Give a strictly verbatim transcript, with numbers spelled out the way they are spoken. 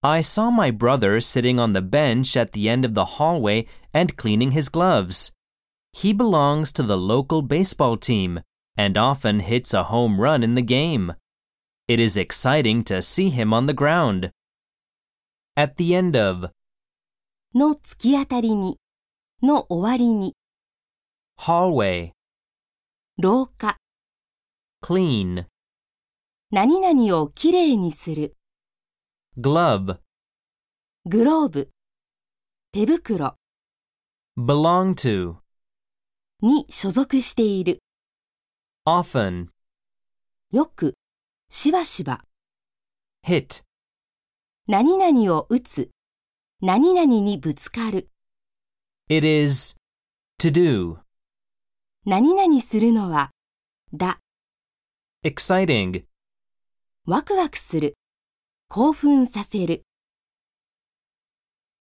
I saw my brother sitting on the bench at the end of the hallway and cleaning his gloves. He belongs to the local baseball team and often hits a home run in the game. It is exciting to see him on the ground. At the end of の突き当たりに、の終わりに、 hallway, 廊下、 clean, 何々をきれいにする、 glove, グローブ、手袋 belong to, に所属している、 often, よく、しばしば、 hit, 何々を打つ、何々にぶつかる、 it is, to do, 何々するのは、だ、 exciting, ワクワクする、興奮させる。